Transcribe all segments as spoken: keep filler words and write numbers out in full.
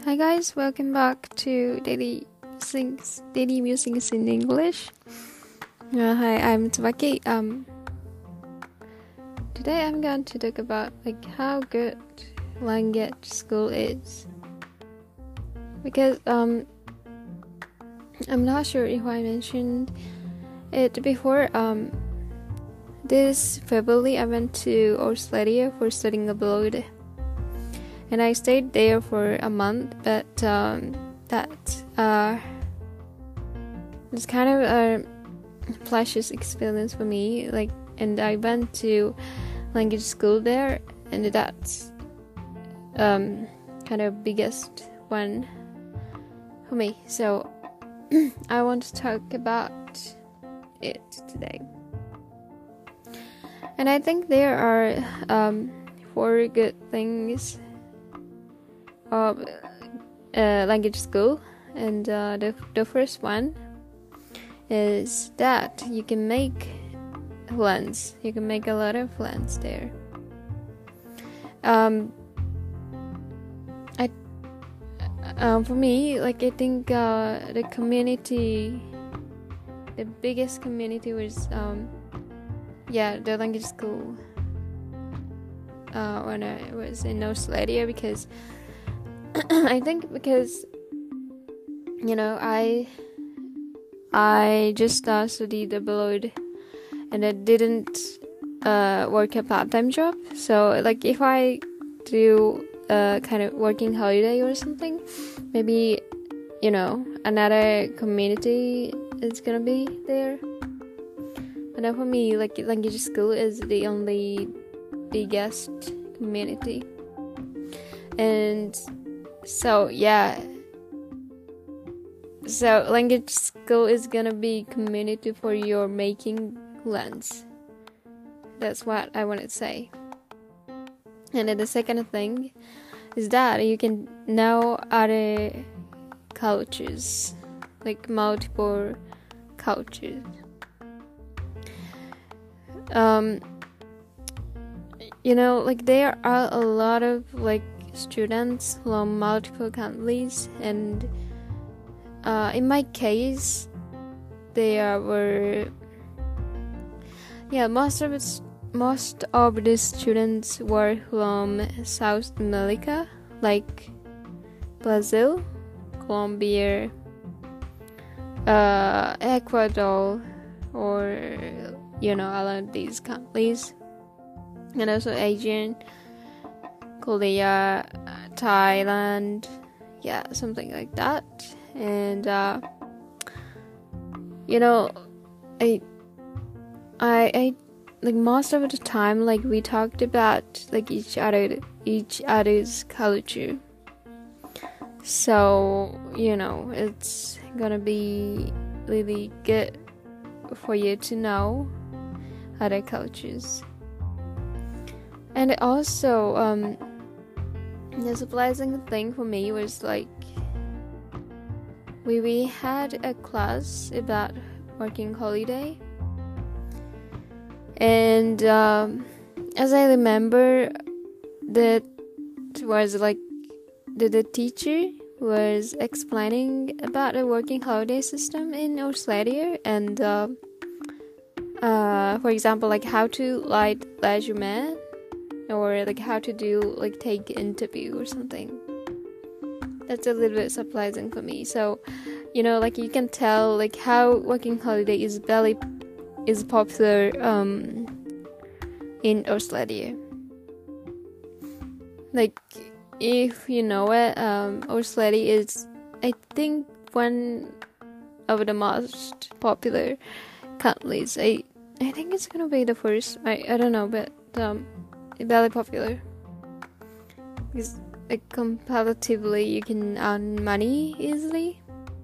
Hi guys, welcome back to Daily Things, Daily Musings in English. Uh, hi, I'm Tsubaki. Um, today I'm going to talk about like how good language school is, because um, I'm not sure if I mentioned it before. Um, this February I went to Australia for studying abroad. And I stayed there for a month, but um, that uh, was kind of a precious experience for me. Like, and I went to language school there, and that's um, kind of biggest one for me. So I want to talk about it today. And I think there are um, four good things of uh, language school, and uh, the the first one is that you can make friends. You can make a lot of friends there. Um, I um for me, like I think uh, the community, the biggest community was um yeah the language school uh, when I was in Australia, because I think because you know I I just uh, studied abroad, and I didn't uh, work a part-time job. So like if I do a kind of working holiday or something, maybe you know another community is gonna be there. But now for me, like language school is the only biggest community. And So yeah, so language school is gonna be community for your making friends. That's what I want to say. And then the second thing is that you can know other cultures, like multiple cultures. Um, you know, like there are a lot of like students from multiple countries, and uh, in my case there were yeah most of it, most of the students were from South America, like Brazil, Colombia, uh, Ecuador, or you know all of these countries, and also Asian, Korea, Thailand, yeah, something like that. And uh, you know, I, I, I, like most of the time, like we talked about like each other, each other's culture. So you know, it's gonna be really good for you to know other cultures. And also, um. the surprising thing for me was like we we had a class about working holiday, and um, as I remember, that was like the, the teacher was explaining about the working holiday system in Australia, and uh, uh, for example, like how to write resume, or like how to do like take interview or something. That's a little bit surprising for me. So you know, like you can tell like how working holiday is very is popular um in Australia. Like if you know it, um Australia is I think one of the most popular countries. I I think it's gonna be the first. I, I don't know, but um very popular, because like comparatively you can earn money easily.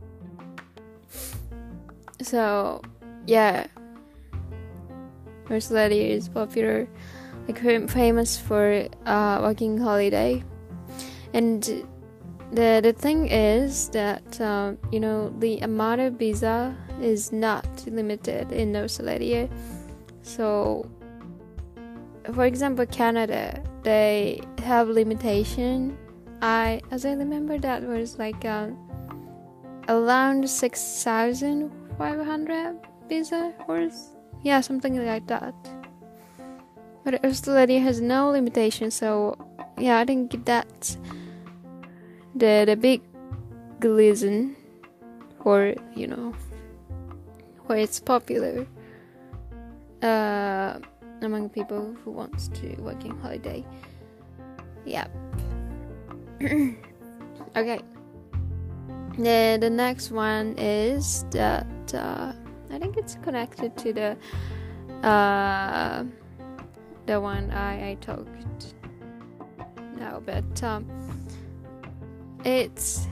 So yeah, Australia is popular, like famous for uh, working holiday. And the the thing is that um, you know the amount of visa is not limited in Australia. So for example, Canada, they have limitation I as I remember that was like um, around six thousand five hundred visa or yeah, something like that. But Australia has no limitation, so yeah, I think that's the the big reason for, you know, why it's popular uh, among people who wants to working holiday. Yeah. Okay. The the next one is that uh, I think it's connected to the uh, the one I, I talked now, but um, it's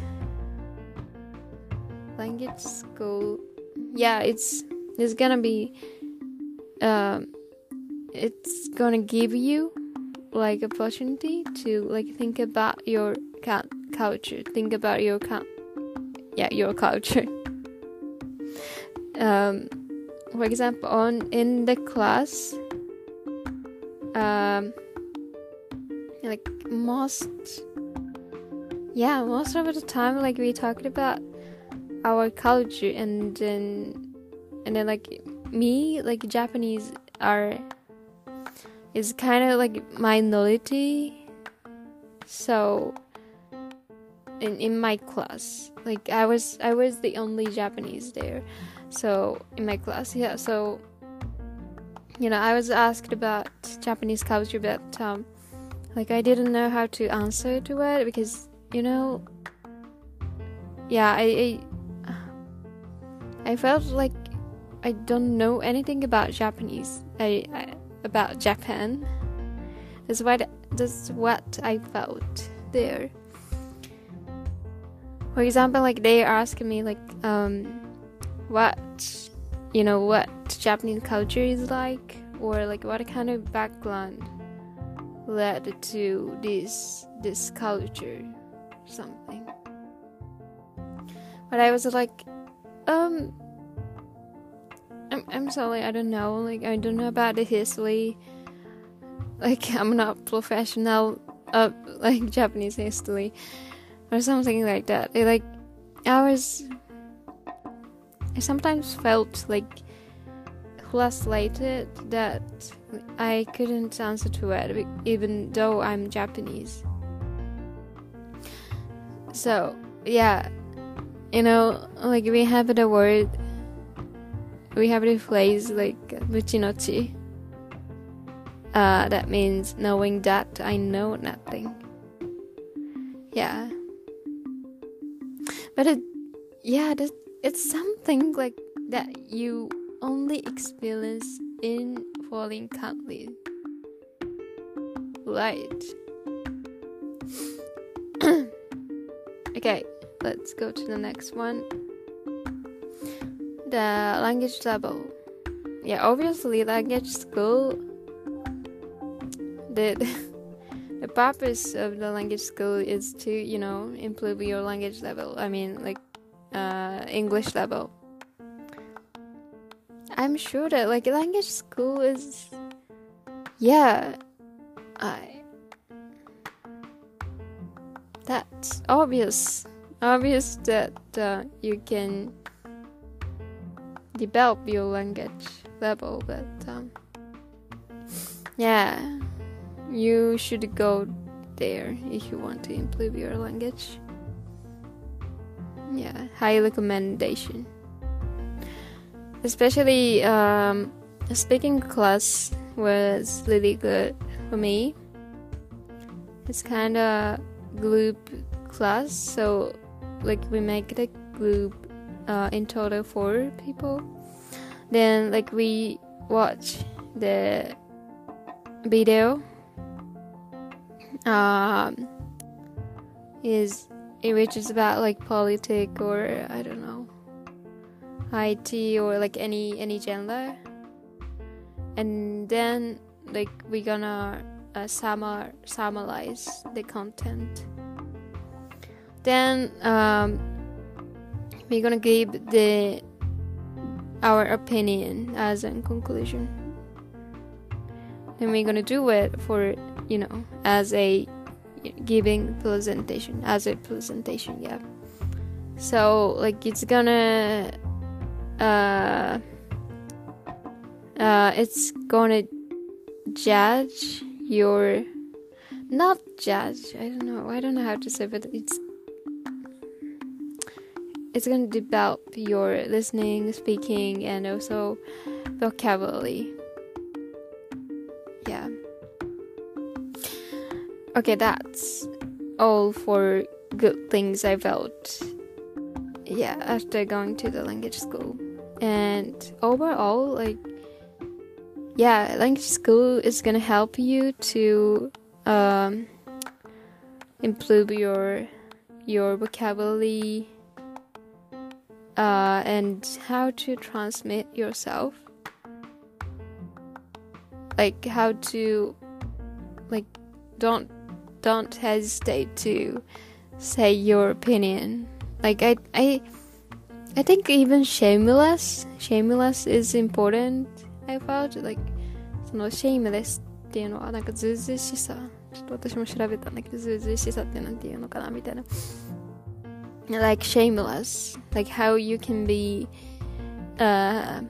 language school. Yeah, it's it's gonna be um, it's gonna give you like opportunity to like think about your ca- culture, think about your ca- yeah your culture. Um, for example, on in the class, um, like most, yeah, most of the time, like we talked about our culture, and then and then like me, like Japanese are is kind of like minority, so in in my class, like I was I was the only Japanese there, so in my class, yeah, so you know, I was asked about Japanese culture, but um like I didn't know how to answer to it because, you know, yeah, I I, I felt like I don't know anything about Japanese. I, I about Japan. That's what that's what I felt there. For example, like they asked me like um what you know what Japanese culture is like, or like what kind of background led to this this culture or something. But I was like, um I'm I'm sorry, I don't know. Like I don't know about the history. Like I'm not professional of like Japanese history or something like that. It, like I was, I sometimes felt like frustrated that I couldn't answer to it, even though I'm Japanese. So yeah, you know, like we have the word. We have the phrase like "muchinochi." Uh, that means knowing that I know nothing. Yeah, but it, yeah, that, it's something like that you only experience in foreign countries, right? Okay, let's go to the next one. The language level. Yeah, obviously language school, the the purpose of the language school is to, you know, improve your language level. I mean, like uh English level. I'm sure that like language school is, yeah, I that's obvious obvious that uh, you can develop your language level, but um, yeah, you should go there if you want to improve your language. Yeah, high recommendation. Especially um, speaking class was really good for me. It's kind of group class, so like we make the group uh, in total four people. Then like we watch the video. Um, is which is about like politics or I don't know, I T or like any any genre. And then like we're gonna uh, summar summarize the content. Then um, we're gonna give the our opinion as a conclusion. Then we're gonna do it for, you know, as a giving presentation as a presentation. Yeah. So like it's gonna uh uh it's gonna judge your not judge I don't know I don't know how to say, but it's it's gonna develop your listening, speaking, and also vocabulary. Yeah. Okay, that's all for good things I felt, yeah, after going to the language school. And overall, like, yeah, language school is gonna help you to um, improve your your vocabulary uh, and how to transmit yourself, like how to like don't don't hesitate to say your opinion. Like I I I think even shameless shameless is important. I felt like その shameless っていうのはなんかずうずうしさ、ちょっと私も調べたんだけど、ずうずうしさってなんていうのかなみたいな。Like shameless, like how you can be uh,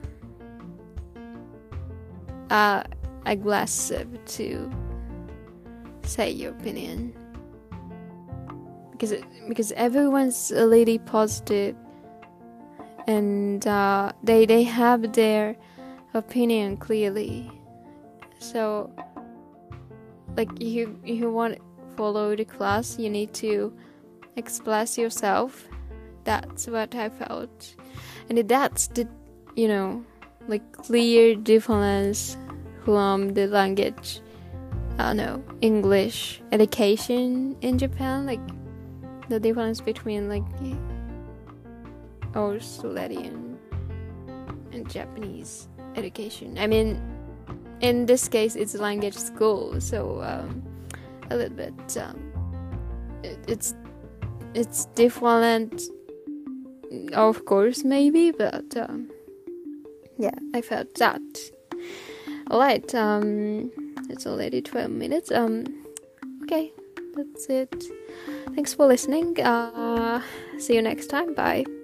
uh aggressive to say your opinion, because because everyone's really positive and uh, they they have their opinion clearly. So like you you want to follow the class, you need to express yourself. That's what I felt, and that's the you know like clear difference from the language I don't know English education in Japan, like the difference between like Australian and Japanese education. I mean, in this case it's language school, so um, a little bit um, it, it's it's different, of course, maybe, but um, yeah, I felt that. Alright, um, it's already twelve minutes. Um, okay, that's it. Thanks for listening. Uh, see you next time. Bye.